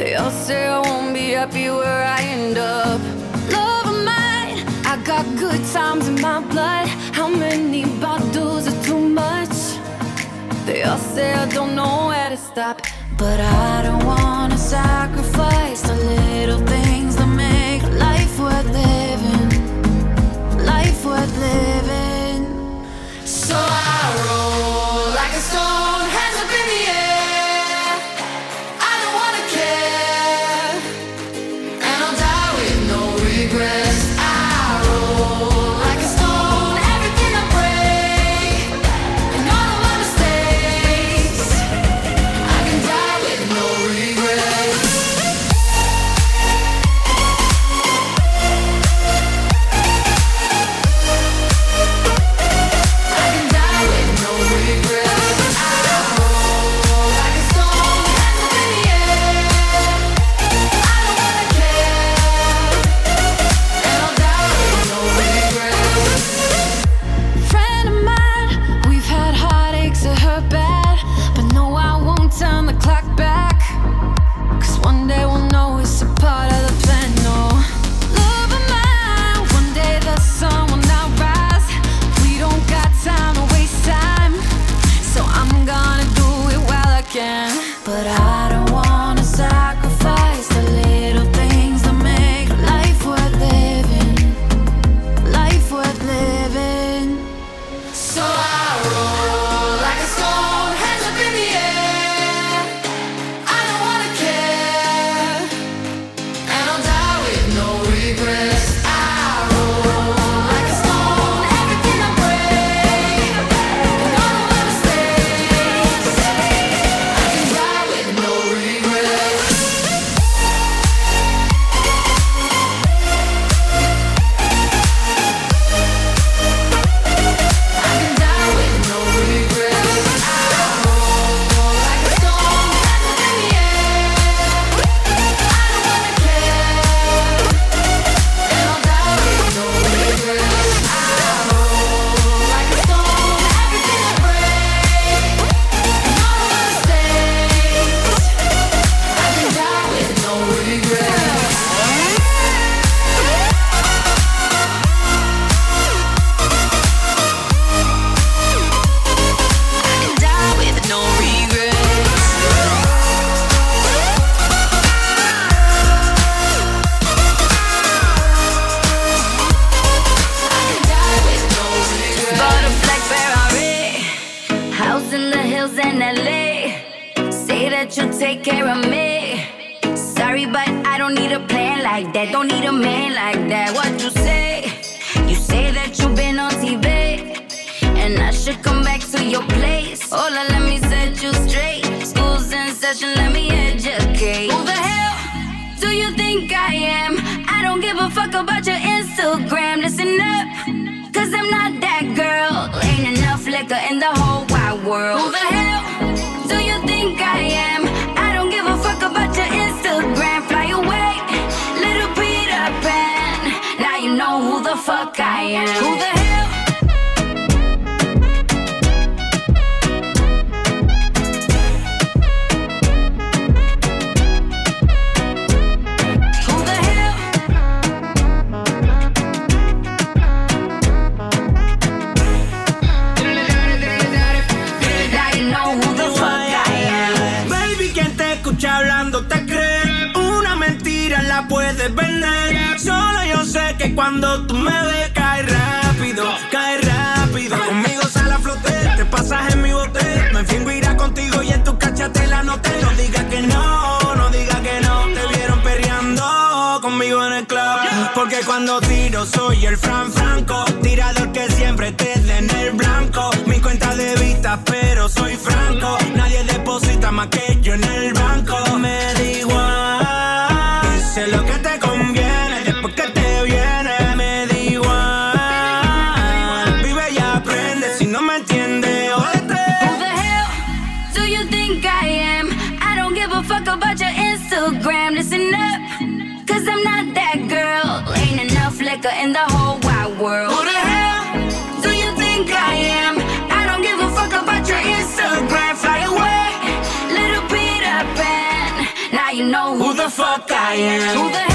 They all say I won't be happy where I end up. Love of mine, I got good times in my blood. How many bottles are too much? They all say I don't know where to stop, but I don't wanna sacrifice the little things that make life worth living. Life worth living. So I roll like a stone, hands up in the air. I don't wanna care, and I'll die with no regrets. I roll like a stone, everything I break, and all of my mistakes. I can die with no regrets. I can die with no regrets. I roll like a stone, hands up in the air. I don't wanna care, and I'll die with no regrets. Friend of mine, we've had heartaches that hurt bad, but no, I won't turn the clock back. 'Cause one day we'll know it's a part of the plan. No, love of mine, one day the sun will not rise. We don't got time to waste time, so I'm gonna do it while I can. But I don't wanna sacrifice the little things that make life worth living. Life worth living. So I roll like a stone, hands up in the air. I don't wanna care, and I'll die with no regrets. I roll like a stone, everything I break, and all of my mistakes. I can die with no regrets. I can die with no regrets. I roll like a stone, hands up in the air. I don't wanna care, and I'll die with no regrets. I roll like a stone, everything I break, and all of my mistakes. I can die with no regrets. I can die with no regrets. I can die with no regrets. Bought a black Ferrari, house in the hills in LA. Say that you'll take care of me. Sorry, but I don't need a plan like that. Don't need a man like that. What you say? You say that you've been on TV, and I should come back to your place. Hola, let me set you straight. School's in session, let me educate. Who the hell do you think I am? I don't give a fuck about your Instagram. Listen up, 'cause I'm not that girl. Ain't enough liquor in the whole wide world. Who the hell do you think I am? I don't give a fuck about your Instagram. Fly away, little Peter Pan. Now you know who the fuck I am. Who the hell? Who the hell? Now you know who the fuck I am. Baby, quien te escucha hablando te cree. Una mentira la puedes vender. Solo yo sé que cuando tú me ves cae rápido, cae rápido. Conmigo sale a flote, te pasas en mi bote. Me fingo irá contigo y en tu cachate la noté. No digas que no, no digas que no. Te vieron perreando conmigo en el club. Porque cuando tiro soy el Franco, tirador que siempre te dé en el blanco. Mi cuenta de vista, pero soy franco. Nadie deposita más que yo en el banco. Me da igual, dice lo que te conviene. Después que te viene, me da igual. Vive y aprende, si no me entiendes, jódete. Who the hell do you think I am? I don't give a fuck about your Instagram. Listen up, 'cause I'm not that girl. Ain't enough liquor in the whole wide world. Who the hell Do you think I am? I don't give a fuck about your Instagram. Fly away, little Peter Pan. Now you know who the fuck I am. Who the hell?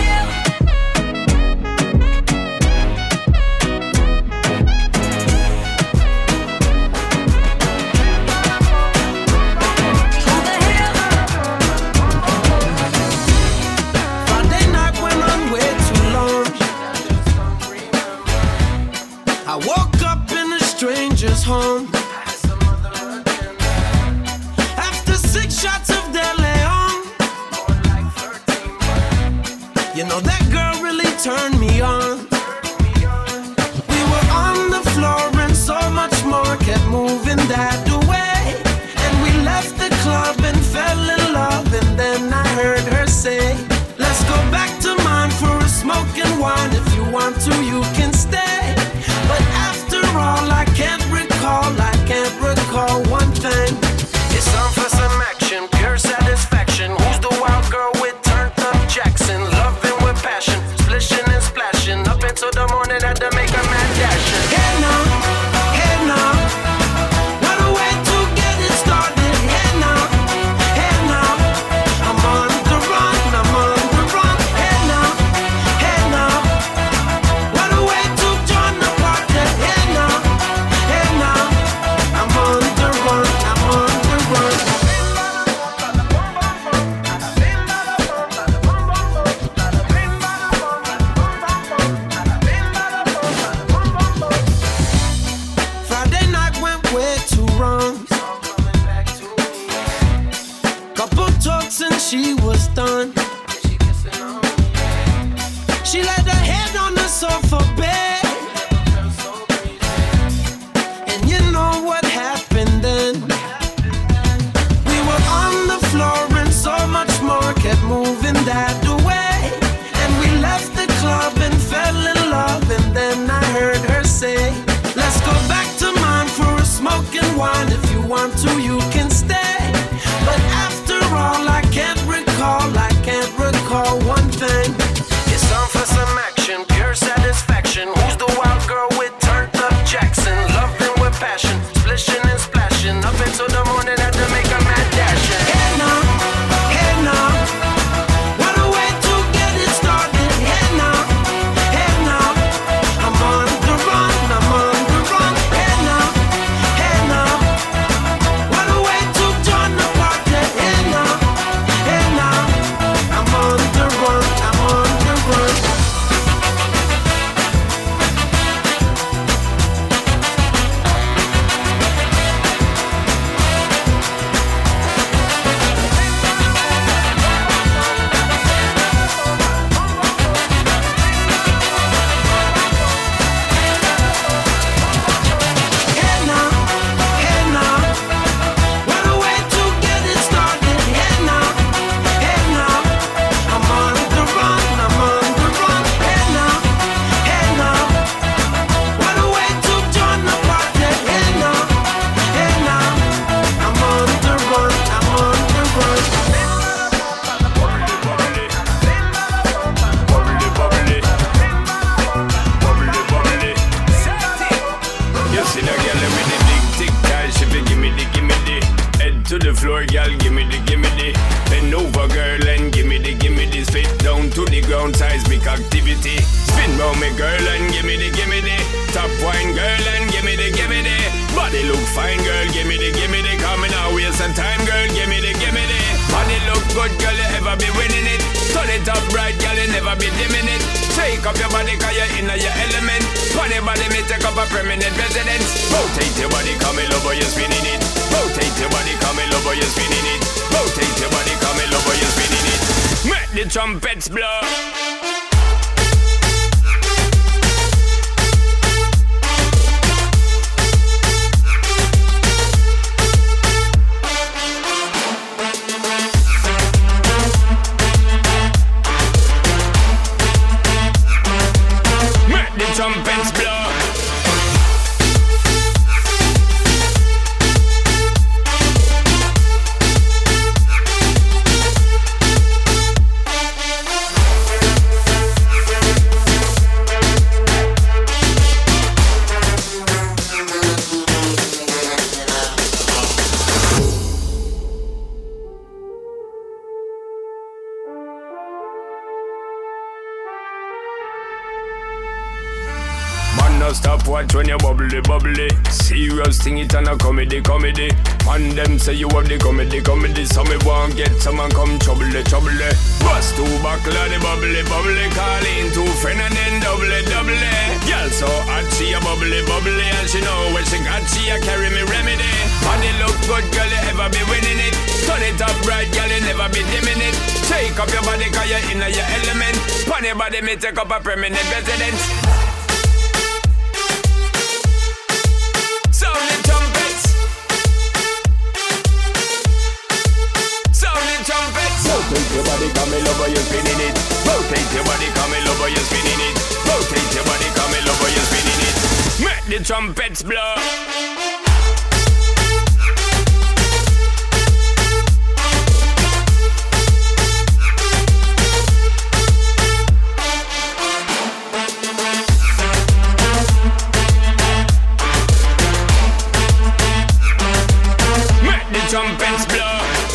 Stranger's home. After 6 shots of De Leon, you know that girl really turned me on. We were on the floor and so much more kept moving that way. And we left the club and fell in love. And then I heard her say, let's go back to mine for a smoke and wine. If you want to, you can stay. But after all, I can't recall one thing. It's time for some action, pure satisfaction. Who's the wild girl with turned up Jackson? Loving with passion, splishing and splashing. Up until the morning, had to make a mad dashin'. Hey now, what a way to get it started. Hey now, I'm on the run. Hey now, what a way to join the party. Hey now, I'm on the run. Friday night went way too wrong. Couple talks and she was done. She laid her head on the sofa bed. And you know what happened then? We were on the floor and so much more kept moving that way. And we left the club and fell in love. And then I heard her say, let's go back to mine for a smoke and wine. If you want to, you can stay. But after all, I can't recall one thing. It's time for some action, pure satisfaction. Who's the wild girl with turned up Jackson? Loving with passion, splishing and splashing. Up until the morning, had to make a mad dashin'. Hey now, what a way to get it started. Hey now, I'm on the run. Hey now, what a way to join the party. Hey now, I'm on the run. Hey now, what a way to get it started. Hey now, I'm on the run. Hey now, what a way to join the party. Hey now, I'm on the run. You see the girl with the big tick tac, she be gimme the head to the floor, girl, gimme the bend over, girl, and gimme the spit down to the ground, seismic activity. Spin round me, girl, and gimme the top wine, girl, and gimme the body look fine, girl, gimme the coming out, waste some time, girl, gimme the body look good, girl, you ever be winning it. Turn it up right, girl, you never be dimming it. Shake up your body, cause you're in your element. Funny body, me take up a permanent residence. Rotate your body, come in over, you're spinning it. Rotate your body, come in over, you're spinning it. Rotate your body, come in over, you're spinning it. Make the trumpets blow. Trumpets blow. no stop watch when you bubbly, bubbly. Serious thing, it and a comedy, comedy. And them say you have the comedy, comedy. So me won't get someone come trouble, trouble. Bust two buckle of the bubbly, bubbly. Call in two friend and then double, double. Girl so hot, she a bubbly, bubbly. And she know when she got, she a carry me remedy. Body look good, girl, you ever be winning it. Turn it up right, girl, you never be dimming it. Shake up your body, cause you're in your element. Pon your body, me take up a permanent residence. Sound the trumpets. Sound the trumpets. Rotate your body, come me love, you're spinning it. Rotate your body, come me love, you're spinning it. Rotate your body, come me love, you're spinning it. Make the trumpets blow. Trumpets blow.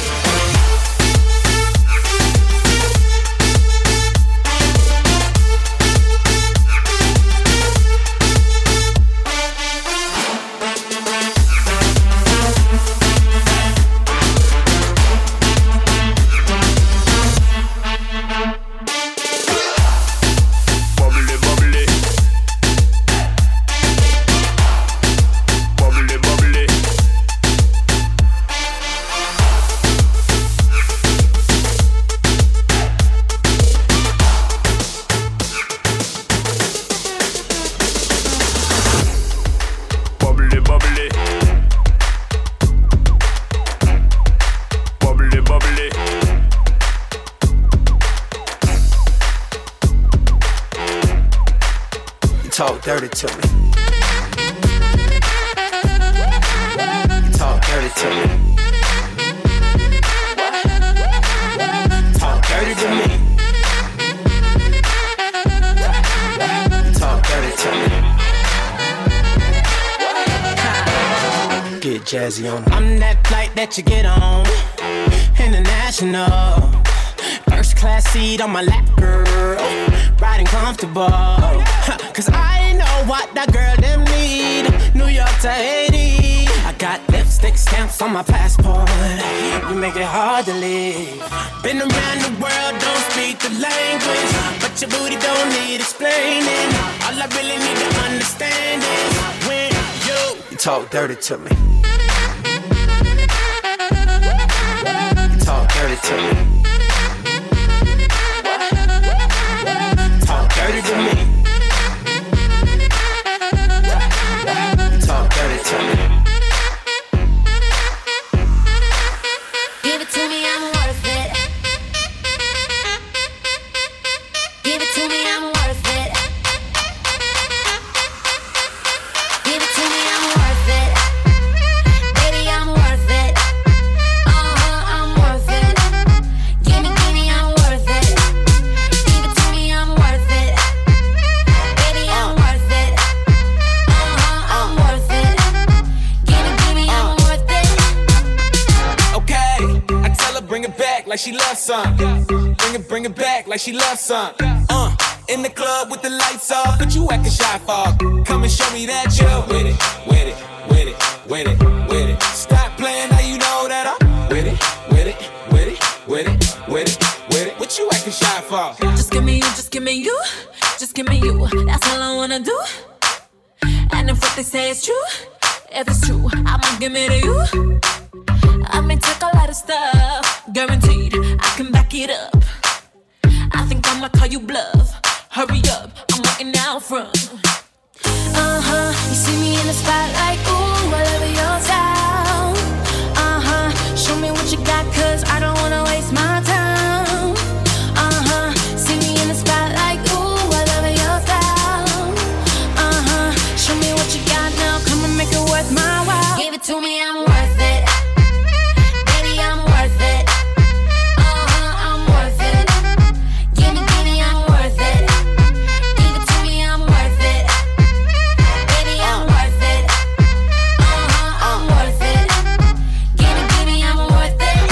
Talk dirty to me. You talk dirty to me. Talk dirty to me. You talk dirty to me. Get jazzy on. I'm that flight that you get on. International. First class seat on my lap, girl. Riding comfortable. Cause I know what that girl them need. New York to Haiti. I got lipstick stamps on my passport. You make it hard to leave. Been around the world, don't speak the language. But your booty don't need explaining. All I really need to understand is when you talk dirty to me. You talk dirty to me. Talk dirty to me. Talk dirty to me. Give it to me, I'm worth it. Give it to me, I'm worth it. Give it to me, I'm worth it. Baby, I'm worth it. I'm worth it. Give me, I'm worth it. Give it to me, I'm worth it. Baby, I'm worth it. I'm worth it. Give me, I'm worth it. Okay, I tell her bring it back like she loves some. Bring it back like she loves some. In the club with the lights off, but you acting shy for. Come and show me that you're with it, with it, with it, with it, with it. Stop playing, now you know that I'm with it, with it, with it, with it, with it, with it. What you acting shy for? Just give me you, just give me you, just give me you. That's all I wanna do. And if what they say is true, if it's true, I'ma give it to you. I may take a lot of stuff, guaranteed I can back it up. I think I'ma call you bluff. Hurry up, I'm waiting out front. You see me in the spotlight, ooh, I love your style. Show me what you got, cause I don't wanna waste my time. See me in the spotlight, ooh, I love your style. Show me what you got now, come and make it worth my while. Give it to me, I'm worth it. Baby, I'm worth it. I'm worth it. Give me, I'm worth it. Give it to me, I'm worth it. Baby, I'm worth it. I'm worth it. Give me, I'm worth it.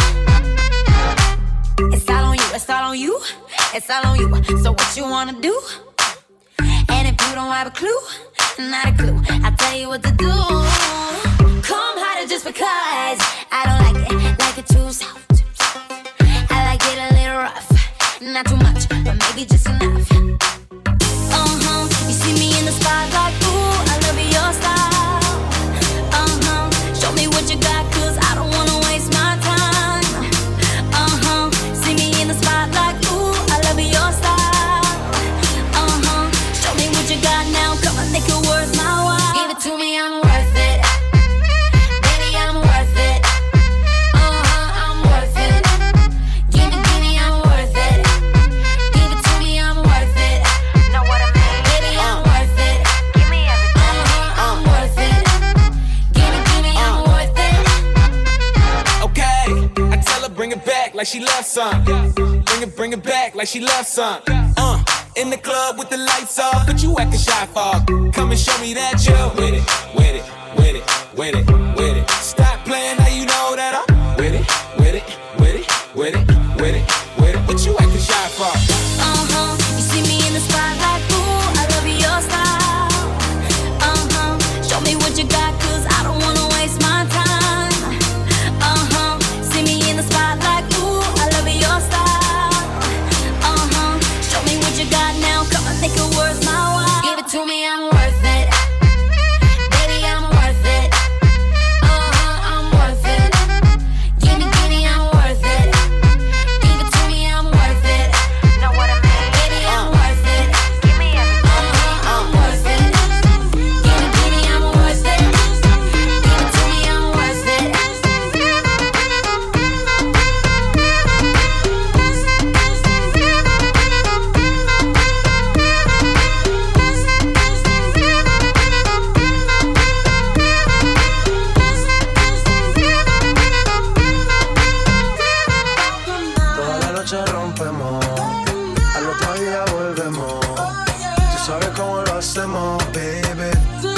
It's all on you, it's all on you, it's all on you. So what you wanna do? And if you don't have a clue, not a clue. I'll tell you what to do. Come harder just because I don't like it too soft. I like it a little rough, not too much, but maybe just enough. You see me in the spotlight, ooh, I love your style. Show me what you got, 'cause I don't wanna waste my time. See me in the spotlight, ooh, I love your style. Show me what you got now, come on, make it worth my while. Give it to me, I'm worth it. Baby, I'm worth it. I'm worth it. Give me, I'm worth it. Give it to me, I'm worth it. Know what I mean? Baby, I'm worth it. Give me everything. I'm worth it. Give me, I'm worth it. Okay, I tell her bring it back like she loves some. Bring it back like she loves some. In the club with the lights off, but you acting shy for. Come and show me that you're with it, with it, with it, with it, with it. Stop playing, now you know that I'm with it, with it, with it, with it, with it, with it. What you acting shy for? You see me in the spotlight, ooh, I love your style. Show me what you got, 'cause I don't wanna waste my time. See me in the spotlight, ooh, I love your style. Show me what you got now, come on, make it worth my while. Give it to me, I'm worth it. Baby, I'm worth it. I'm worth it. Give me, I'm worth it. Give it to me, I'm worth it. Know what I mean? Baby, I'm worth it. Give me everything. I'm worth it. Give me, I'm worth it. Give it to me, I'm worth it. Toda la noche rompemos, al otro día volvemos. Tú sabes cómo lo hacemos, baby.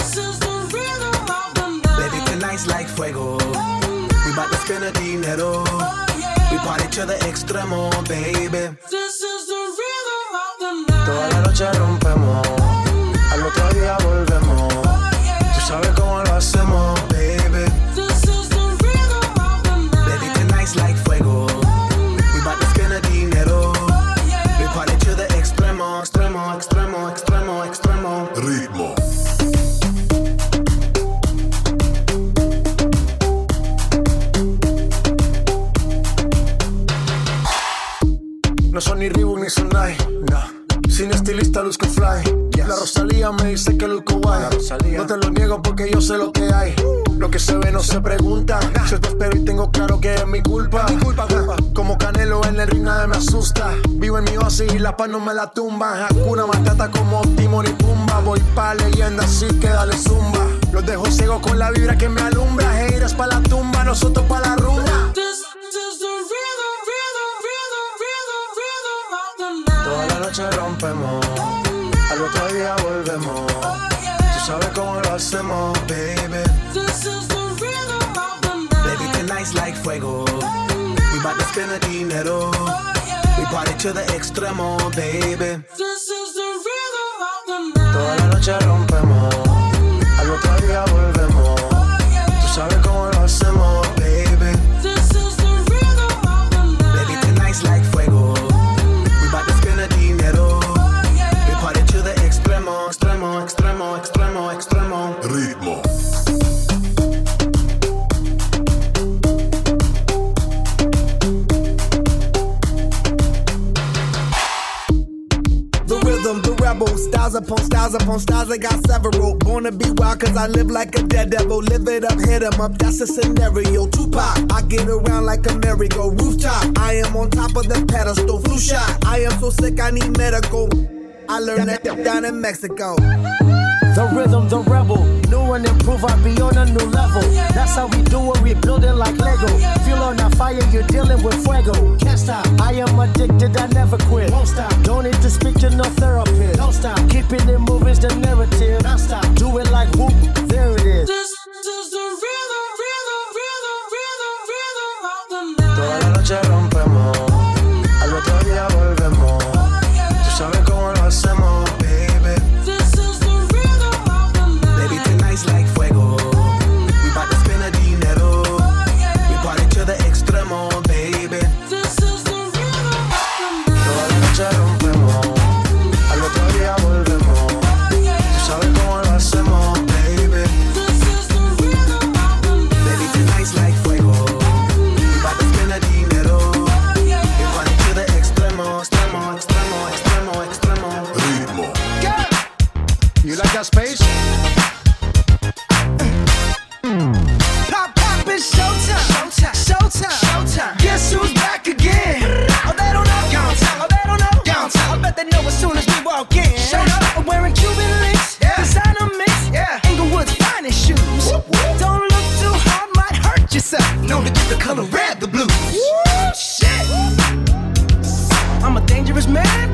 Baby, tonight's like fuego. We bout to spend the dinero. We party to the extremo, baby. Toda la noche rompemos, al otro día volvemos. Tú sabes cómo lo hacemos, baby. Baby, tonight's like fuego. We bout to spend the dinero. We party to the extremo, extremo, extremo, extremo, extremo. Ritmo. No son ni Reebok ni Sonai, no. Sin estilista luzco fly. La Rosalía me dice que luzco guay. No te lo niego porque yo sé lo que hay. Lo que se ve no se pregunta. Si esto espero y tengo claro que es mi culpa. Como Canelo en el ring nadie me asusta. Vivo en mi oasis y la paz no me la tumba. Hakuna Matata como Timon y Pumba. Voy pa' leyenda así que dale zumba. Los dejo ciego con la vibra que me alumbra. Haters pa' la tumba, nosotros pa' la rumba. Toda la noche rompemos, al otro día volvemos. Tú sabes cómo lo hacemos, baby. Baby, tonight's like fuego. We bout to spend the dinero. We party to the extremo, baby. Toda la noche rompemos, al otro día volvemos. Tú sabes cómo lo hacemos, baby. Baby, tonight's like fuego. Dinero. We party to the extremo, extremo, extremo, extremo, extremo. Ritmo. The rhythm, the rebel, styles upon styles upon styles, I got several. Born to be wild cause I live like a dead devil. Live it up, hit 'em up, that's a scenario. Tupac, I get around like a merry-go. Rooftop, I am on top of the pedestal. Flu shot, I am so sick I need medical. I learned that down in Mexico. The rhythm, the rebel, new and improve, I be on a new level. That's how we do it, we build it like Lego. Feel on that fire, you're dealing with fuego. Can't stop, I am addicted, I never quit. Won't stop, don't need to speak to no therapist. Don't stop, keeping it moving's the narrative. Don't stop, do it like whoop, there it is. This is the rhythm, rhythm, rhythm, rhythm, rhythm of the night. Toda la noche rompemos, al otro día volvemos. Tú sabes cómo lo hacemos, baby. This is the rhythm of the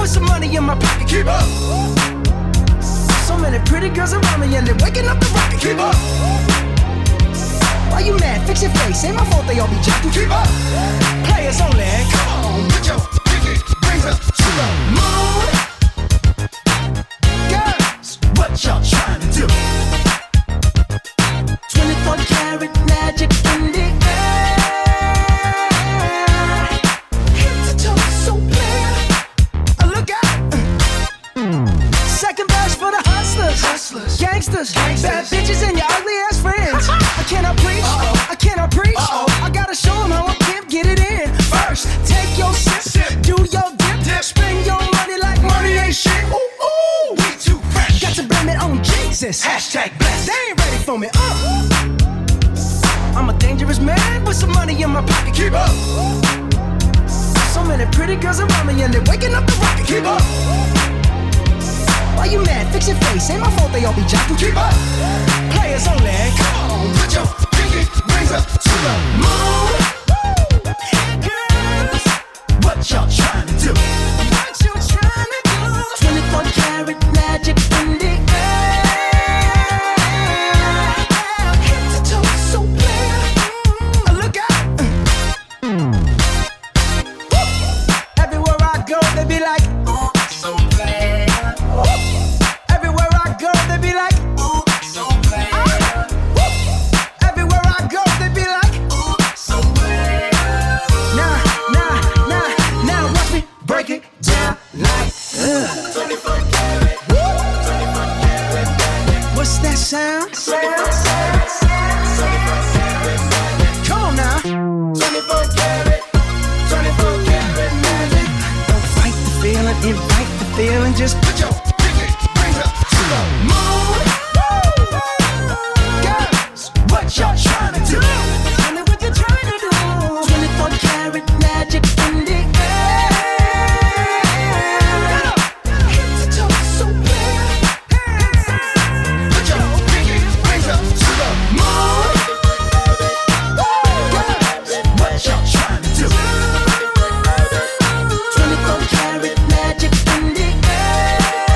with some money in my pocket. Keep up. So many pretty girls around me and they're waking up the rocket. Keep up. Why you mad? Fix your face. Ain't my fault they all be jacking. Keep up. Players only. Come on, put your pinky rings up to the moon. Girls, what y'all trying to do? 24 karat magic in the air. Head to toe, so clear. Look out. Second verse for the hustlers, gangsters, bad bitches and your ugly ass friends. I cannot preach, I cannot preach. I gotta show them how I can't get it in. First, take your sip, do your dip, spend your money like money ain't shit. Ooh, ooh, we too fresh. Got to blame it on Jesus. Hashtag blessed. They ain't ready for me. I'm a dangerous man with some money in my pocket. Keep up. So many pretty girls around me and they're waking up the rocket. Keep up. Why you mad? Fix your face. Ain't my fault they all be jocking. Keep up. Players only. Come on, put your pinky rings up to the moon. Girls, what y'all trying to do? What you trying to do? 24 karat magic in the air. Head to toe, so clear. Look out. Everywhere I go, they be like, oh, so clear. Everywhere I go, they be like, ooh, so clear. Everywhere I go, they be like, ooh, so clear. Now, watch me break it down like 24 karat. 24 karat. What's that sound? 24 karat. Come on now. 24 karat. 24 karat magic. Don't fight the feeling, invite the feeling. Just put your moon. Girls, what y'all trying to do? Tell me what you're trying to do. 24 karat magic in the air. Head to toe, so clear. Put your pinky rings up to the moon. Girls, what y'all trying to do? 24 karat magic in the air.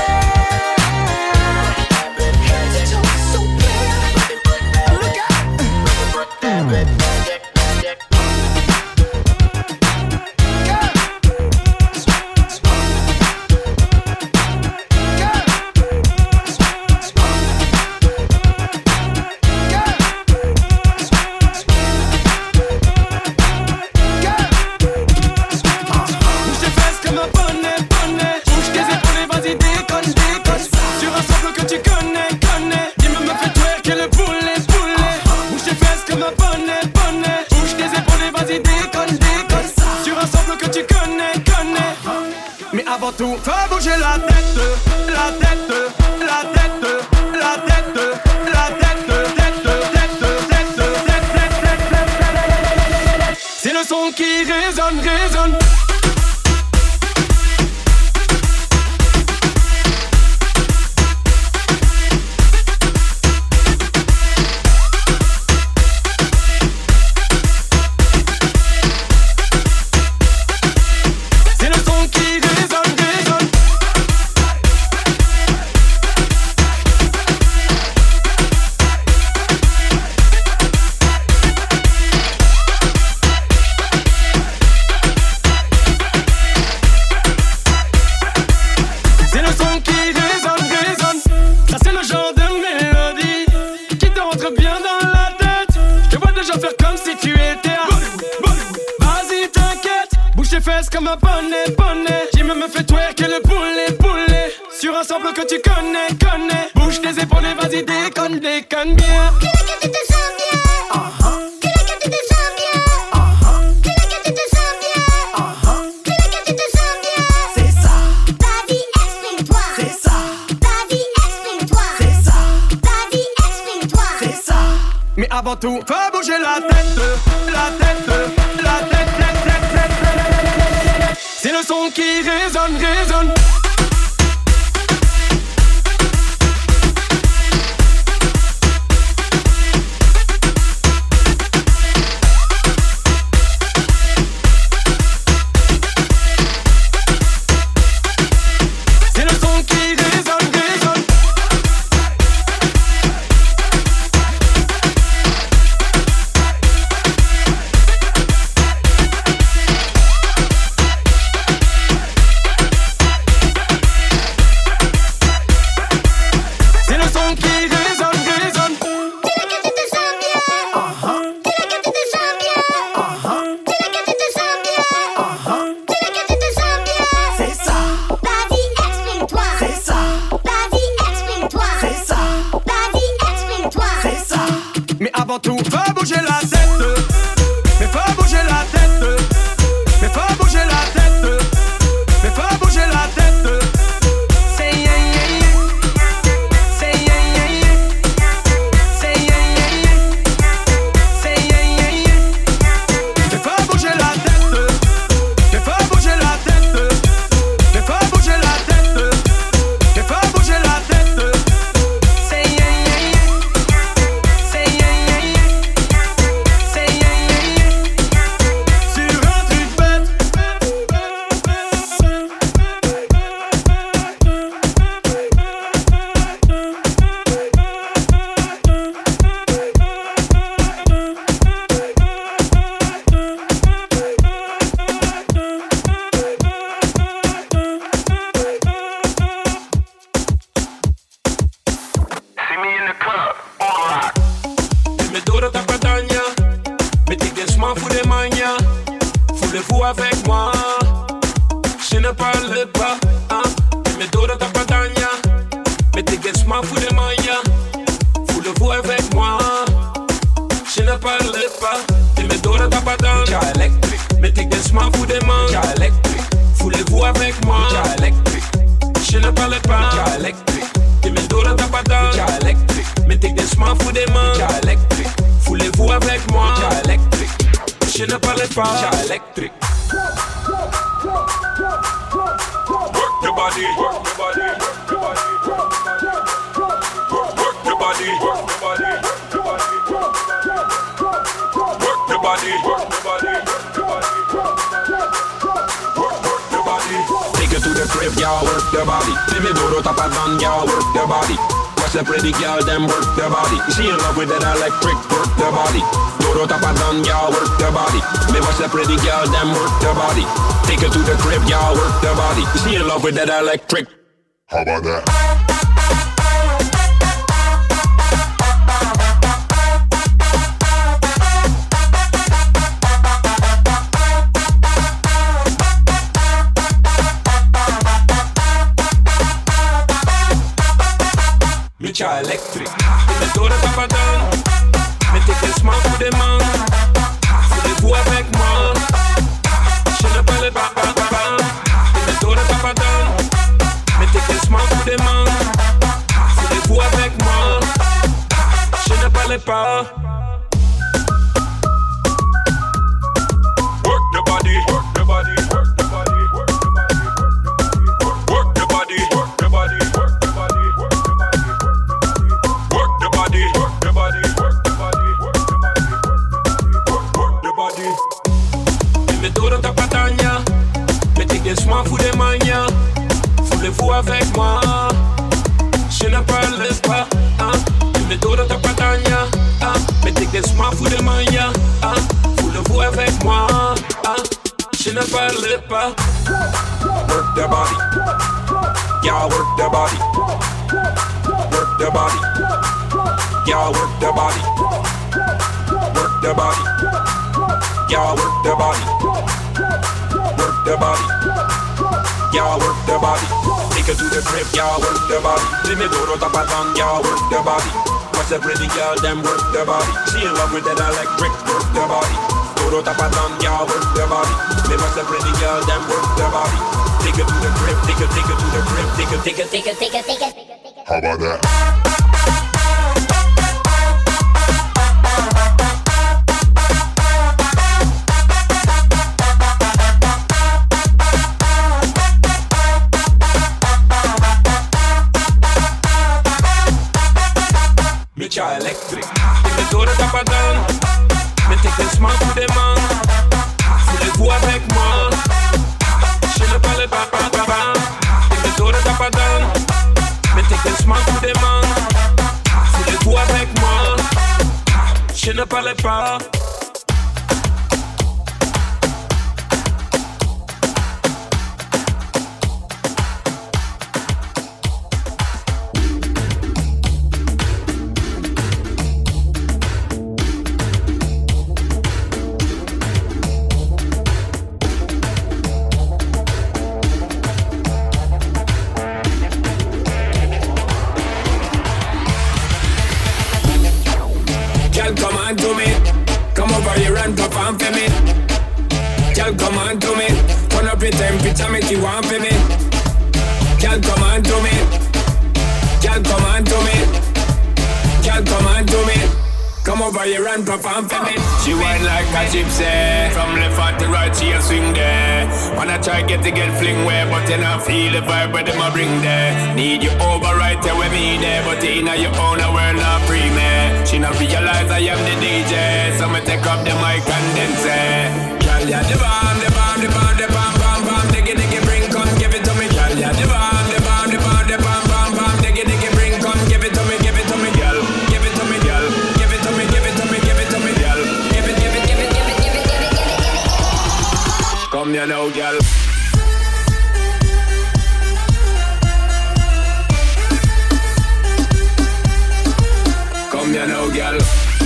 Avant tout, faut bouger la tête, la tête, la tête, la tête, la tête, tête. C'est le son qui résonne, résonne. Comme un bonnet, bonnet. J'ai même fait twerker le poulet, poulet. Sur un sample que tu connais, connais. Bouge tes épaules et vas-y, déconne, déconne bien. Que tu te sens bien. Que tu te sens bien. Que tu te sens bien. Que tu te sens bien. C'est ça. Vas-y, exprime-toi. C'est ça. Vas-y, exprime-toi. C'est ça. Vas-y, exprime-toi. C'est ça. Mais avant tout, faut bouger la tête, la tête, la tête. C'est le son qui résonne, résonne. avant tout, faut bouger la tête. Mais faut bouger la tête. Mais faut bouger la tête. Mais faut bouger la tête. Say yeah yeah yeah. Say yeah yeah yeah. Say yeah yeah yeah. Say yeah yeah yeah. Mais faut bouger la tête. Mais faut bouger la tête. Mais faut bouger la tête. Mais faut bouger la tête. Say yeah yeah yeah. Say yeah yeah yeah. Say yeah yeah yeah. Sur un truc bête. Dime duro ta padaña, me tigues m'en fous des manias. Voulez-vous avec moi? Je ne parle pas, hein. Dime duro ta padaña, me tigues m'en fous des manias. Voulez-vous avec moi? Je ne parle pas. Dime duro ta padaña, électrique. Me tigues m'en fous des manias, électrique. Voulez-vous avec moi? Électrique. Je ne parle pas, électrique. Dime duro ta padaña, électrique. Me tigues m'en fous des manias, électrique. Voulez-vous avec moi? Électrique. Je ne parle pas, électrique. Work your body, work your body, work your body, work your body, work your body, work your body, work your body, work your body. Take it to the crib, y'all, work your body. Give me duro tapa down, y'all, work your body. Watch the pretty girl, them work their body. She in love with that electric, work their body. Duro tapa down, y'all, work their body. Me watch the pretty girl, them work their body. Take her to the crib, y'all, work their body. She in love with that electric. How about that? Micha electric. Me duro tapa down. Me tigues m'en fous des mains. Voulez-vous avec moi? Je ne parle pas. Me duro tapa down. Me tigues m'en fous des mains. Voulez-vous avec moi? Je ne parle pas. Work the body, work the body, work the body, work the body, work the body, work the body, work the body, work the body, work the body, work the body, work the body, work the body. Me duro ta pataña, me tigues m'en fous des manias. Voulez-vous avec moi? Je ne parle pas, hein. Me duro ta pataña, hein. Me tigues m'en fous des manias, hein. Voulez-vous avec moi? Hein? Je ne parle pas. Work the body. Y'all work the body. Work the body. Y'all work the body. Work the body. Y'all work the body. Work the body. Y'all work the body. Take her to the crib, y'all work the body. Dime duro tapa down, y'all work the body. Watch the pretty girl, them work the body. She in love with that electric, work the body. Duro tapa down, y'all work the body. Me watch the pretty girl, them work the body. Take her to the crib, take her to the crib, take her. How about that? Micha electric. Me duro tapa down. Me tigues m'en fous des mains. Voulez-vous avec moi? Je ne parle pas. Me duro tapa down. Me tigues m'en fous des mains. Voulez-vous avec moi? Je ne parle pas. on for me. Girl, come on to me. Girl, come on to me. Girl, come on to me. Come over here and perform for me. She whine like a gypsy. From left hand to right, she a swing there. Wanna try get fling way, but you not feel the vibe where them a bring there. Need you over right there with me there, but in your own world not free me. She not realize I am the DJ, so me take up the mic and then say, girl, ya the bomb, the bomb, the bomb, the bomb, bomb, bomb, diggy, diggy, bring, come give it to me, girl, ya the bomb, the bomb, the bomb, the bomb, bomb, bomb, diggy, diggy, bring, come give it to me, girl, give it to me, girl. Come here now, girl. Come here now, girl.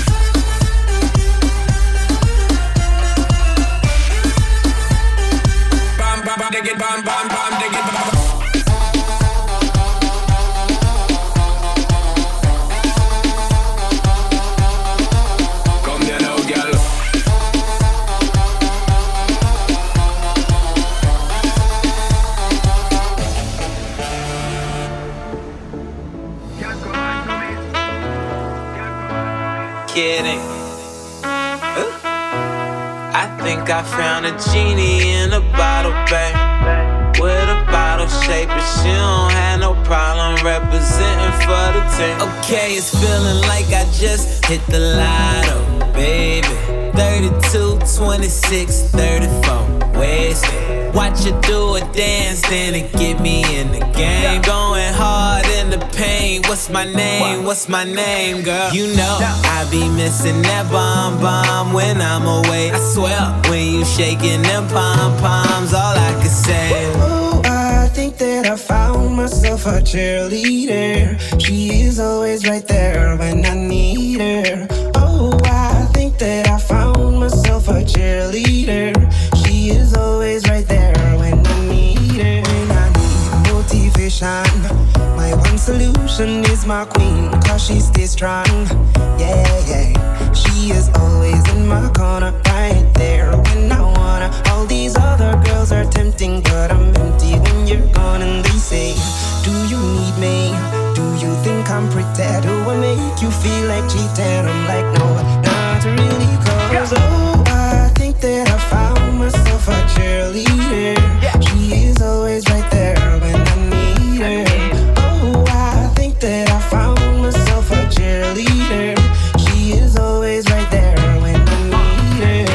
Bam, bam, bam, dig it, bam, bam, bam, dig it, bam. Come here now, girl. Kidding. I think I found a genie in a bottle, babe. With a bottle shape, but she don't have no problem representing for the team. Okay, it's feeling like I just hit the lotto, baby. 32, 26, 34, wasted. Watch you do a dance, then it get me in the game. Going hard in the paint. What's my name? What's my name, girl? You know I be missing that bomb bomb when I'm away. I swear when you shaking them pom poms, all I can say. Oh, I think that I found myself a cheerleader. She is always right there when I need her. Oh, I think that I found myself a cheerleader. She is always right there when I need her. When I need motivation, my one solution is my queen, cause she stays strong. Yeah, yeah. She is always in my corner, right there when I wanna. All these other girls are tempting, but I'm empty when you're gone. And they say, do you need me? Do you think I'm pretty? Do I make you feel like cheating? I'm like, no, not really, cause oh, I think that I found myself a cheerleader. She is always right there when I need her. Oh, I think that I found myself a cheerleader. She is always right there when I need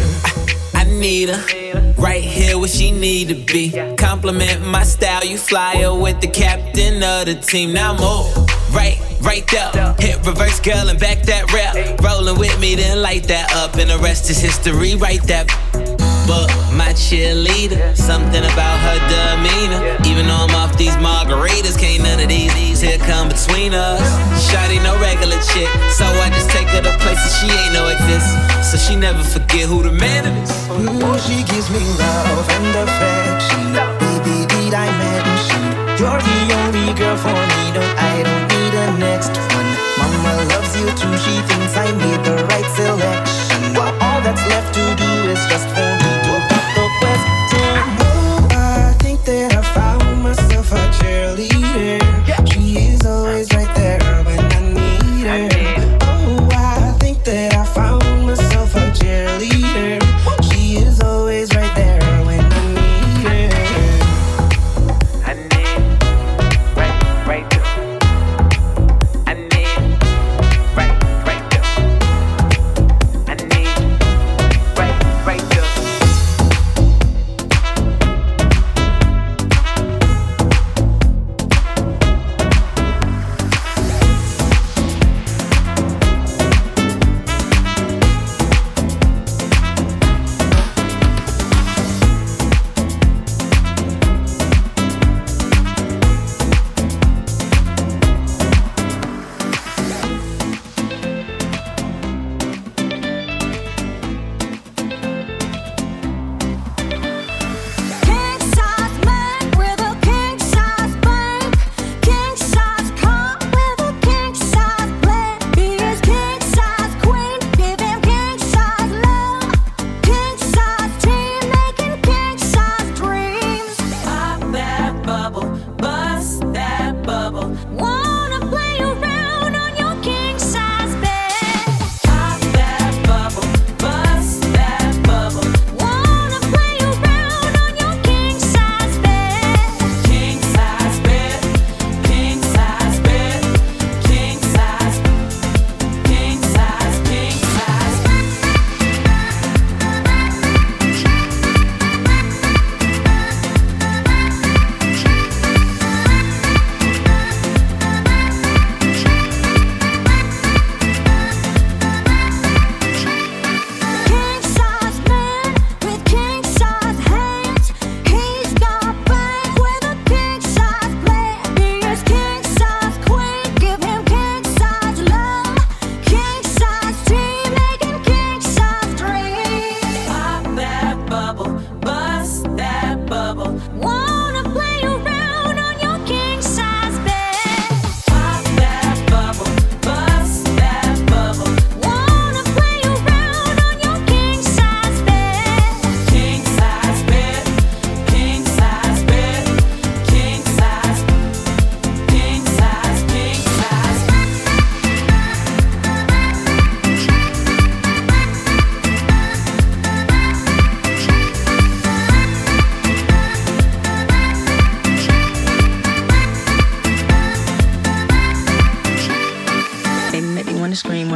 her. I need her right here where she need to be. Compliment my style, you fly her with the captain of the team. Now move right there. Hit reverse, girl, and back that rap. Rolling with me, then light that up, and the rest is history. Write that. But my cheerleader, something about her demeanor. Even though I'm off these margaritas, can't none of these here come between us. Shawty no regular chick, so I just take her to places she ain't no exist. So she never forget who the man is. Ooh, she gives me love and affection. Baby, did I mention you're the only girl for me? I don't need a next one. Mama loves you too. She thinks I made the right selection. All that's left to do is just for me to pop the question. Oh, I think that I found myself a cheerleader. She is always right there when I need her. Oh, I think that I found myself a cheerleader. She is always right there when I need her.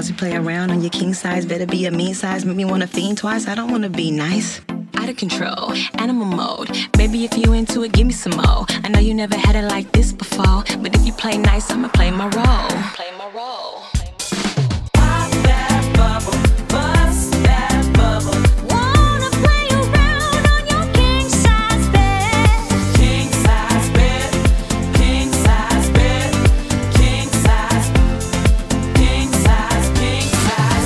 pause, you play around on your king size. Better be a mean size, make me wanna fiend twice. I don't wanna be nice. Out of control, animal mode. Baby, if you into it, give me some more. I know you never had it like this before, but if you play nice, I'ma play my role. Play my role. Pop that bubble, bust that bubble. Wanna play around on your king size bed. King size bed, king size bed, king size, king size, king size.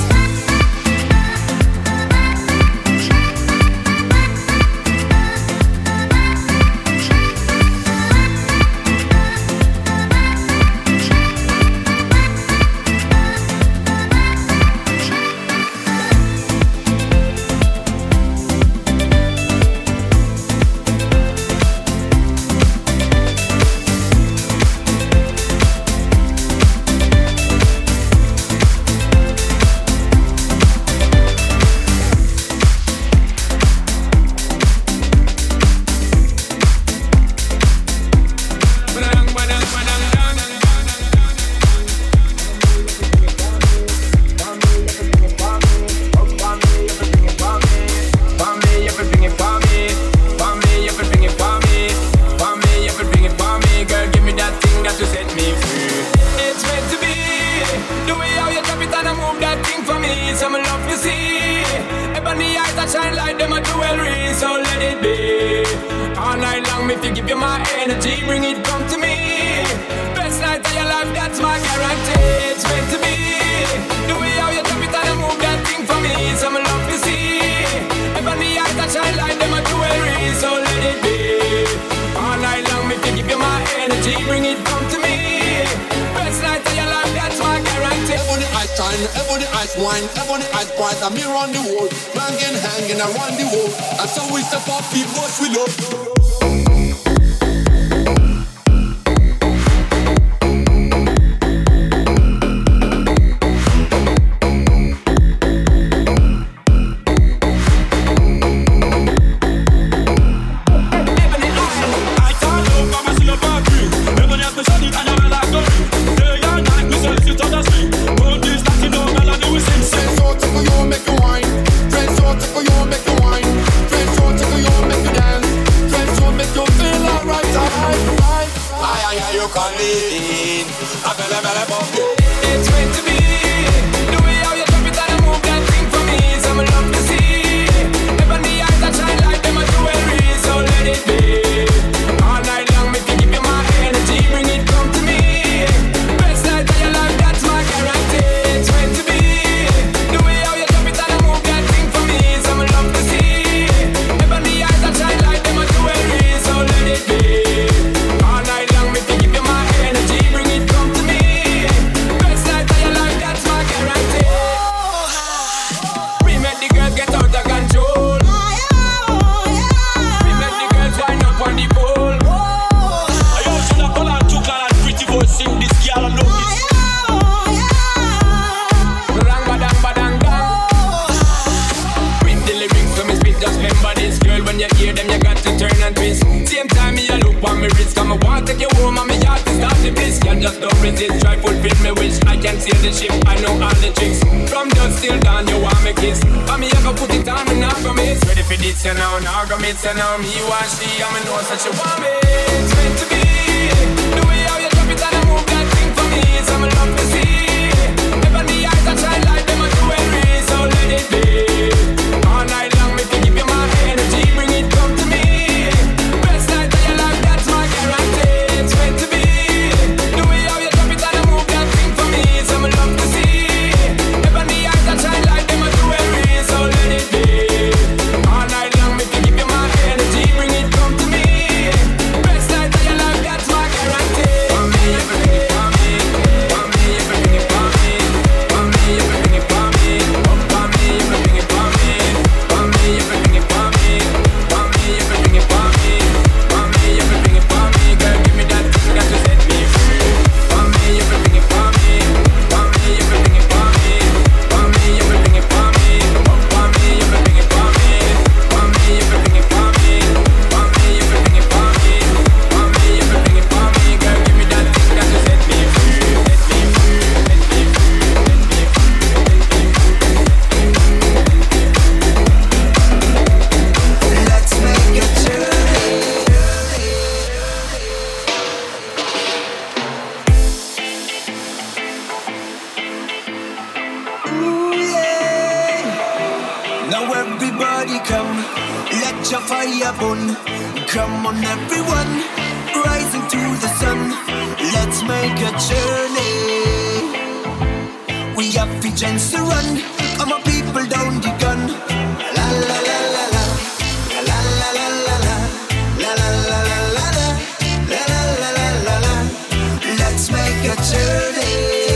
Come on everyone, rising to the sun. Let's make a journey. We have visions to run. All my people down the gun. La la la la la. La la la la la. La la la la la la. La la la la la la. Let's make a journey.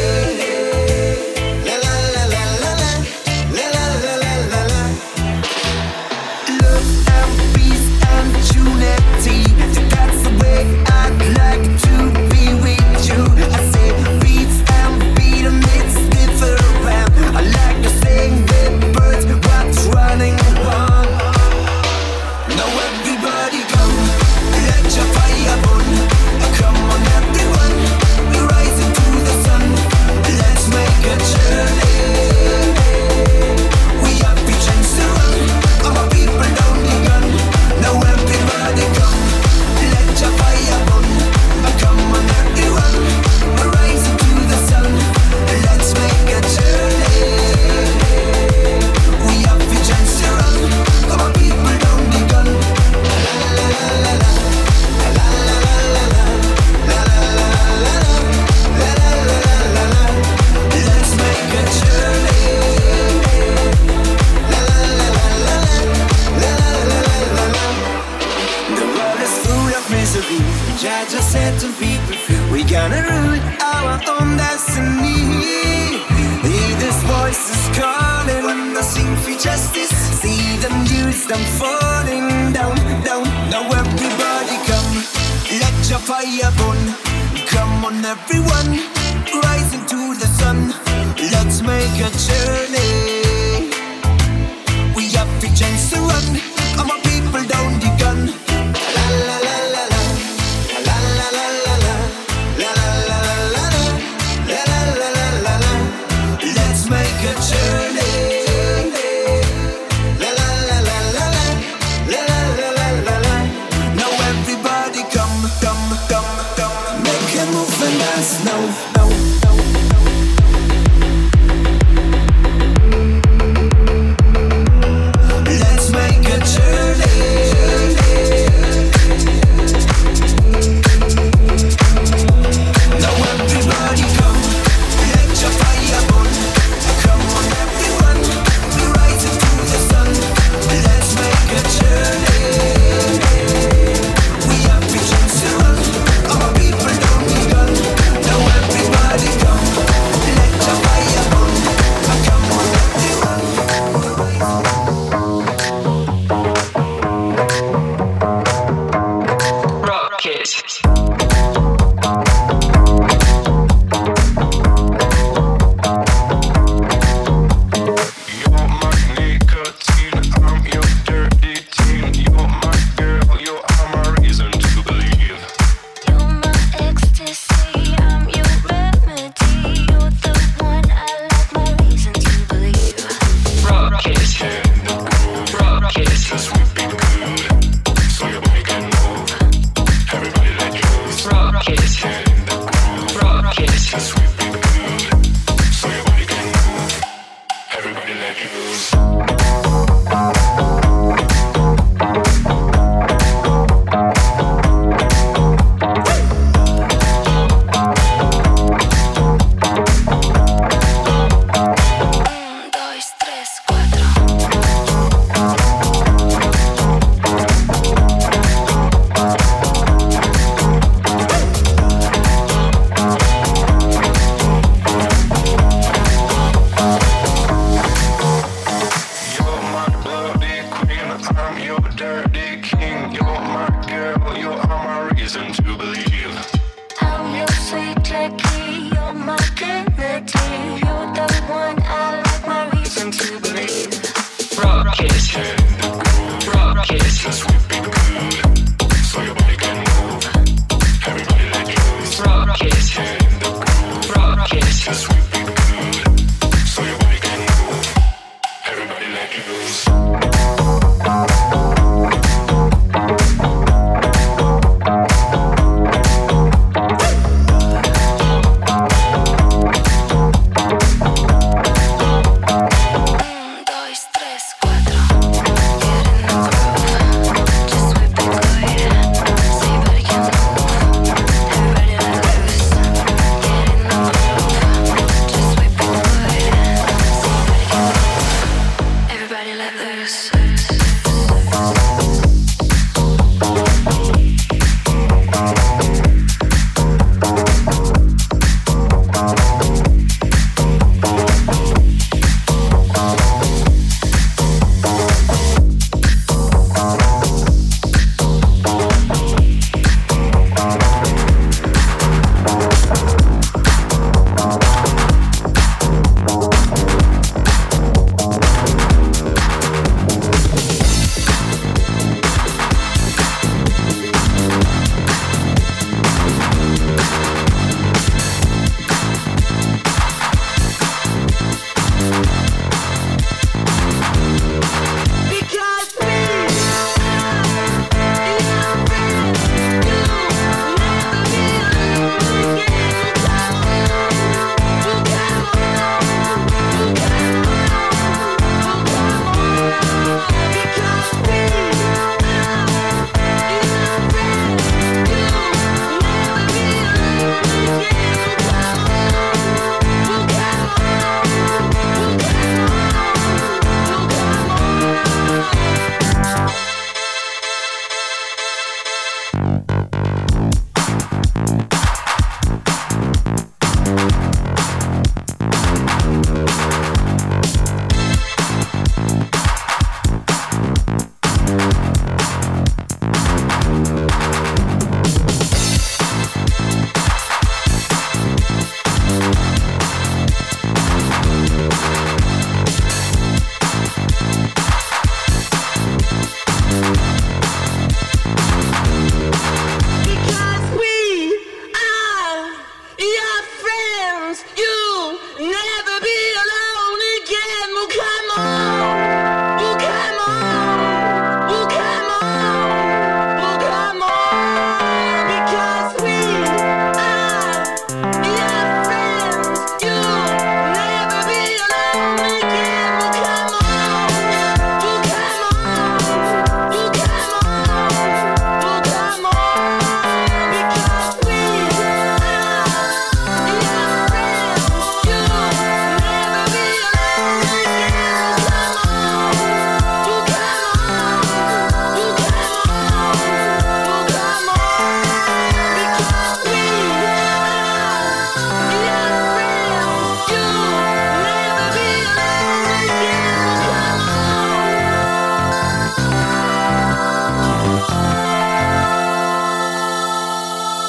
La la la la la la. La la la la la la. Love and peace and unity. That's the way I'd like to be with you. I say beats and beat 'em, it's different. I like to sing with birds, what's running wild. Now everybody come, let your fire burn. Come on everyone, we're rising to the sun. Let's make a journey. We have visions to run. All my people down the gun. Now everybody come, let your fire burn. Come on everyone, we're rising to the sun. Let's make a journey. We have visions to run. All my people down the gun. La la la la la. La la la la la. La la la la la. La la la la la. Let's make a journey. La la la la la. La la la la la. The world is full of misery. Jah just setting people free. We gonna rule our own destiny. Hear this voice is calling when they sing for justice. See them youths, them falling down, down. Now everybody come, let your fire burn. Come on everyone, rising to the sun. Let's make a journey. We have visions to run. All my people down the gun. La la la la la. La la la la la. La la la la la. La la la la la. Let's make a journey. La la la la la la. La la la la la. Now everybody come, come, come, come. Make a move and dance now, now, now. Let's make a journey. Now everybody come, let your fire burn. Come on everyone, we're rising to the sun. Let's make a journey. We have visions to run. All my people down the gun. Now everybody come, let your fire burn. Come on everyone. Rocket. You're my nicotine, I'm your dirty teen. You're my girl, you are my reason to believe. You're my ecstasy, I'm your remedy. You're the one I like, my reason to believe. Rocket. Rocket. Cause we've been good, so your body can move. Everybody let loose. Rocket. Rocket. Cause we've been good, so your body can move. Everybody let loose. Dos, tres, cuatro. You're my bloody queen, I'm your dirty king. You're my girl, you are my reason to believe. I'm your sweet Jackie, you're my dignity. You're the one I like, my reason to believe. Rocket. Rocket. Cause we've been good, so your body can move. Everybody let loose. Rocket. Rocket. Cause we've been good, so your body can move. Everybody let loose.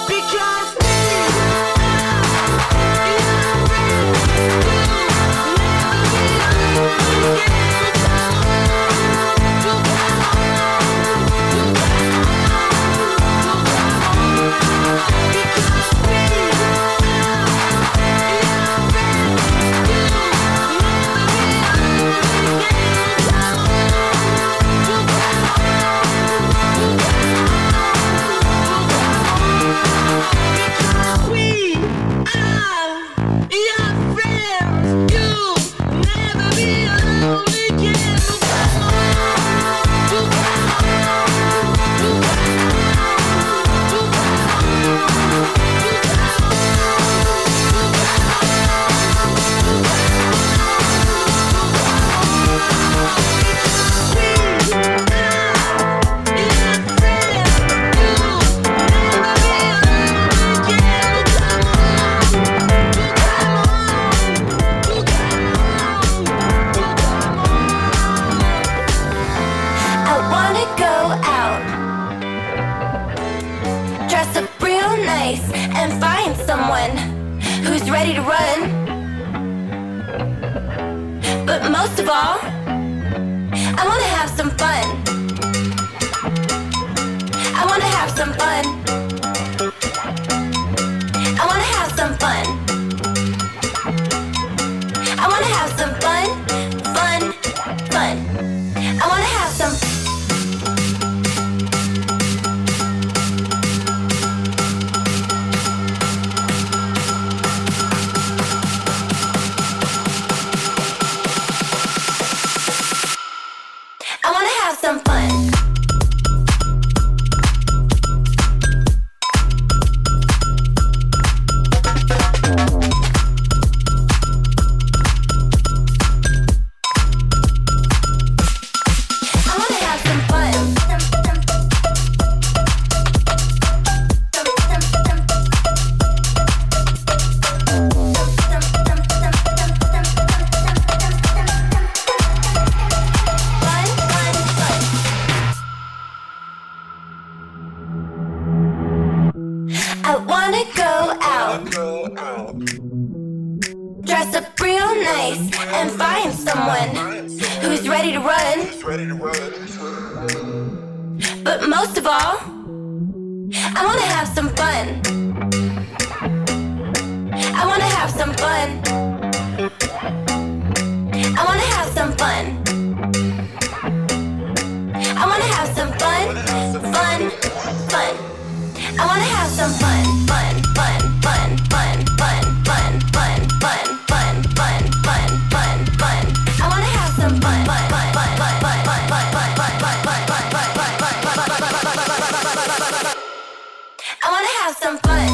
ready to run. But most of all, I wanna have some fun. I wanna have some fun. I wanna have some fun. I wanna have some fun, fun, fun. I wanna have some. I wanna have some fun. I wanna go out, dress up real nice, and find someone who's ready to run. But most of all, I wanna have some fun. I wanna have some fun. I wanna have some fun. I wanna have some fun, fun, fun. I wanna have some fun, fun, fun, fun, fun, fun, fun, fun, fun, fun, fun, fun, fun, fun. I wanna have some fun, fun, fun, fun, fun, fun, fun, fun, fun, fun, fun, fun, fun, fun. I wanna have some fun.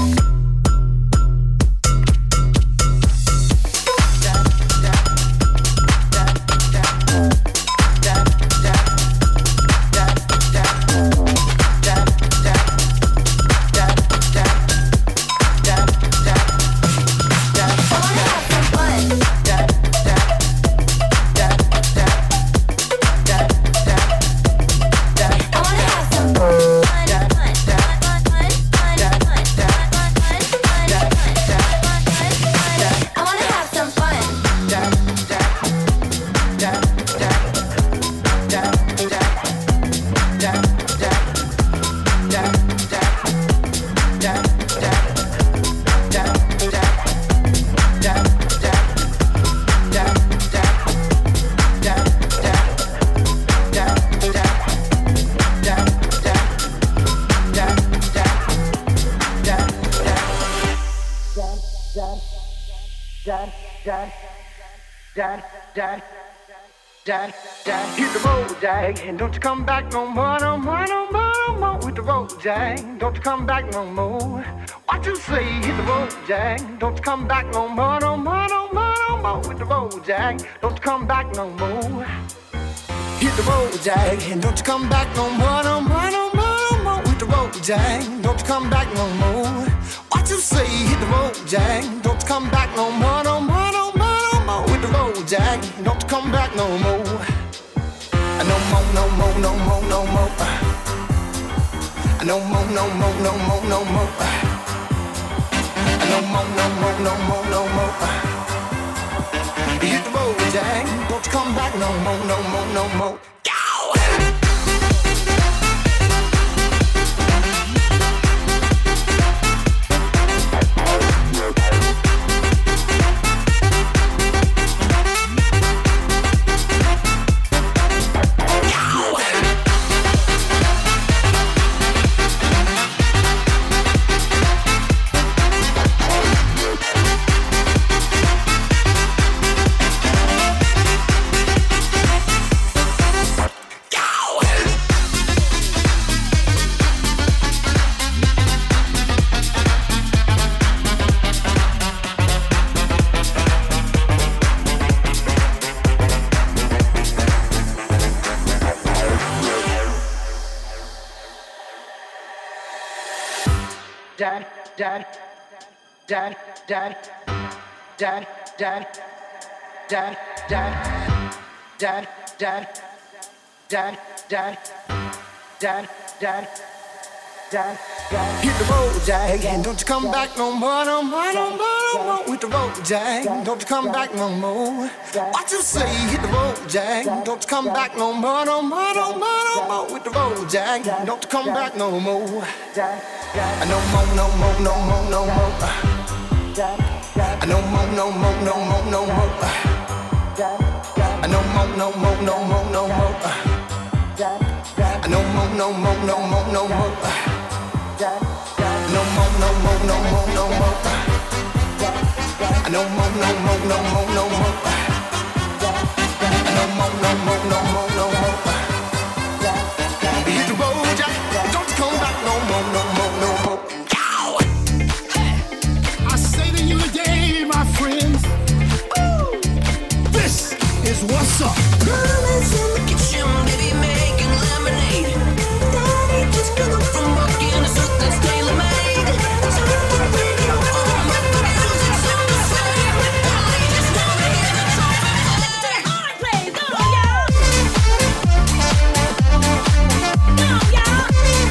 Hit the road, Jack, and don't you come back no more, no more, no more, no more. With the road, Jack, don't you come back no more. What you say? Hit the road, Jack, don't you come back no more, no more, no more, no more. With the road, Jack, don't you come back no more. Hit the road, Jack, and don't you come back no more, no more, no more, no more. With the road, Jack, don't you come back no more. What you say? Hit the road, Jack, don't you come back no more, no more, no more, no more. With the road, Jack, don't you come back no more. No more, no more, no more, no more. No more, no more, no more, no more. No more, no more, no more, no more. Hit the road, Jack. Don't you come back no more, no more, no more. Hit the road, Jack, and don't you come back no more, no more, no more, no more. With the road, Jack, don't you come back no more. What you say? Hit the road, Jack, don't you come back no more, no more, no more, no more. With the road, Jack, don't you come back no more. No more, no more, no more, no more. No more, no more, no more, no more. No more, no more, no more, no more, no more. No more, no more, no more, no more. No more, no more, no more, no more. No more, no more, no more, no more. No more, no more, no more, no more. Hit the road, Jack. Don't come back no more, no more, no more. I say to you today, my friends, this is what's up. Mama's in the kitchen, baby, making lemonade. Daddy just got up from work in a suit that's tailor-made. Turn the radio on, let the music sound the same. I just wanna hear the trumpet play. I play, go y'all. Go y'all.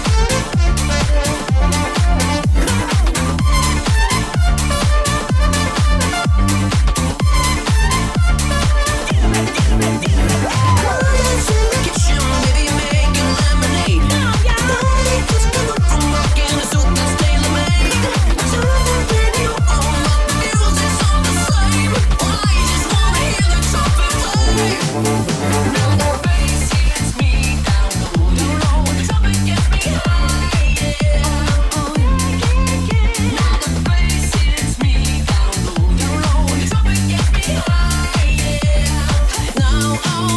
Mama's in the kitchen, baby, making lemonade. Daddy just got up from work in a suit that's tailor-made. Turn the radio on, let the music sound the same. I just wanna hear the trumpet play. Now the bass hits me down low, you know the trumpet gets me high, yeah. Now the bass hits me down low, you know the trumpet gets me high, yeah. Now,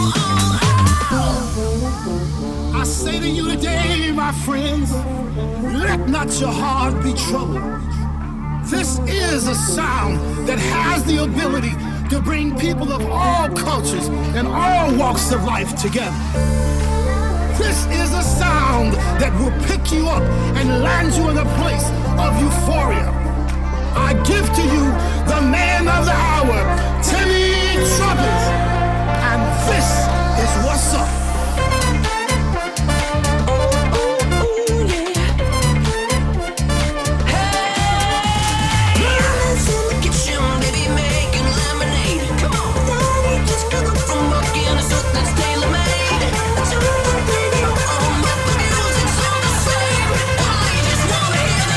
I say to you today, my friends, let not your heart be troubled. This is a sound that has the ability to bring people of all cultures and all walks of life together. This is a sound that will pick you up and land you in a place of euphoria. I give to you the man of the hour, Timmy Trumpet, and this is what's up. Mama's in the kitchen, baby, making lemonade. Come on, Daddy just got up from work in a suit that's tailor-made. Turn the radio on, let the music sound the same. I just wanna hear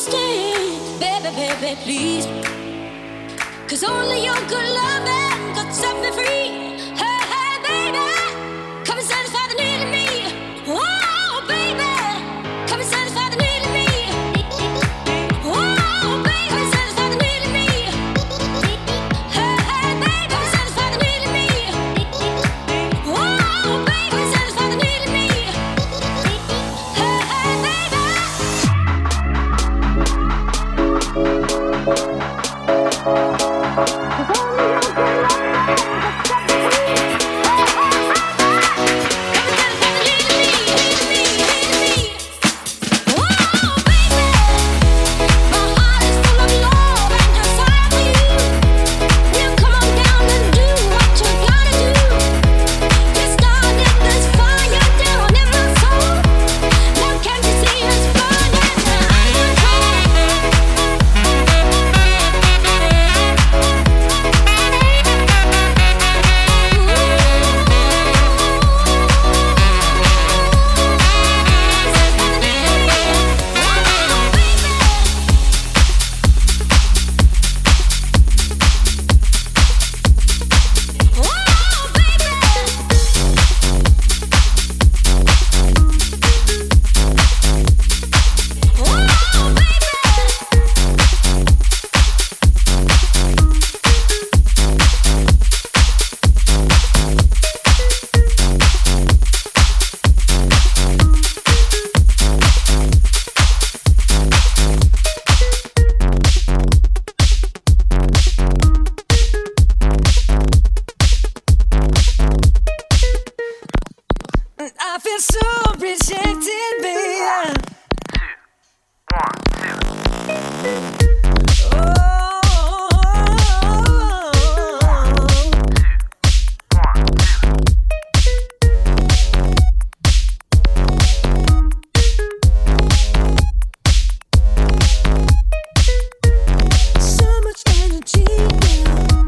stay, baby, baby, please. 'Cause only your good loving could set me free. Hey, hey, baby, come and satisfy the need in me. Oh, baby, come and satisfy the need in me. Oh, baby, come and satisfy the need in me. Hey, hey, baby, come and satisfy the need in me. Oh, baby, come and satisfy the need in me. Hey, hey, baby. I feel so rejected, baby. So much energy now.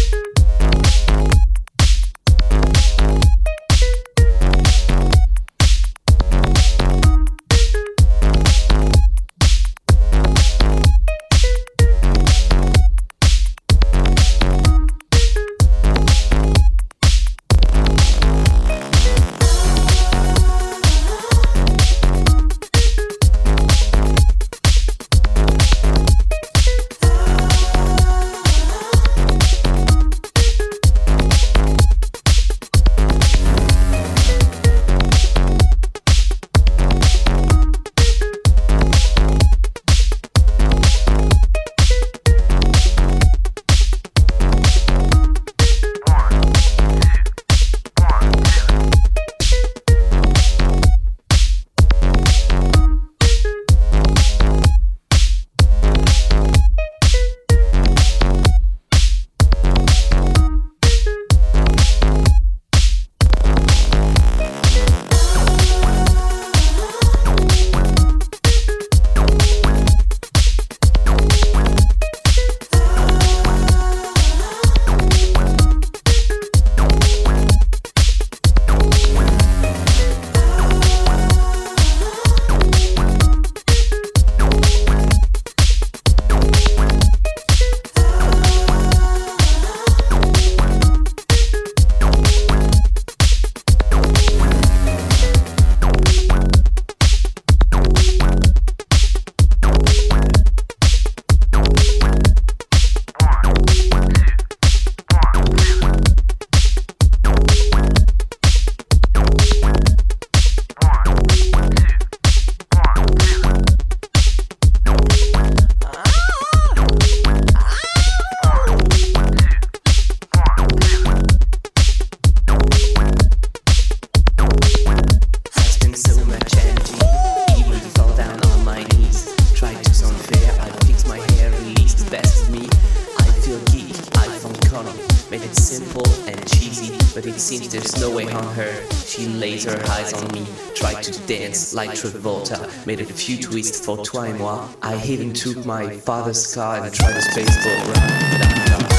Seems there's no way on her. She lays her eyes on me, tried to dance like Travolta, made a few twists for toi et moi. I even took my father's car and tried a spaceport run.